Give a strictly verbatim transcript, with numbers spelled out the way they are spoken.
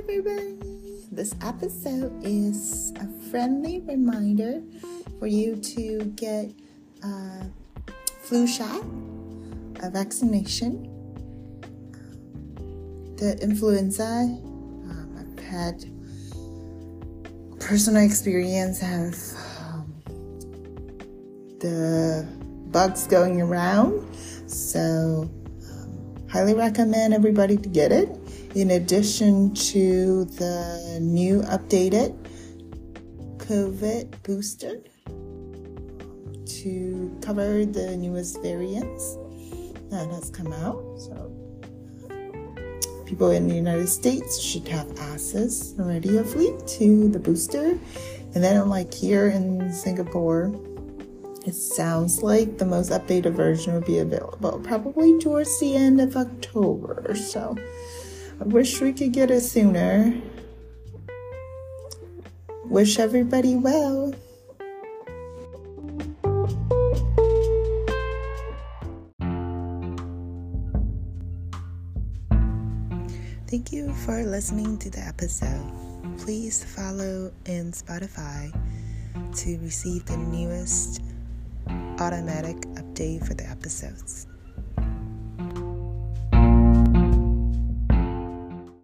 everybody. This episode is a friendly reminder for you to get a flu shot, a vaccination. The influenza, um, I've had personal experience of um, the bugs going around, so um, highly recommend everybody to get it. In addition to the new updated COVID booster to cover the newest variants that has come out. So people in the United States should have access already to the booster. And then like here in Singapore, it sounds like the most updated version will be available probably towards the end of October. So I wish we could get it sooner. Wish everybody well. Thank you for listening to the episode. Please follow in Spotify to receive the newest automatic update for the episodes.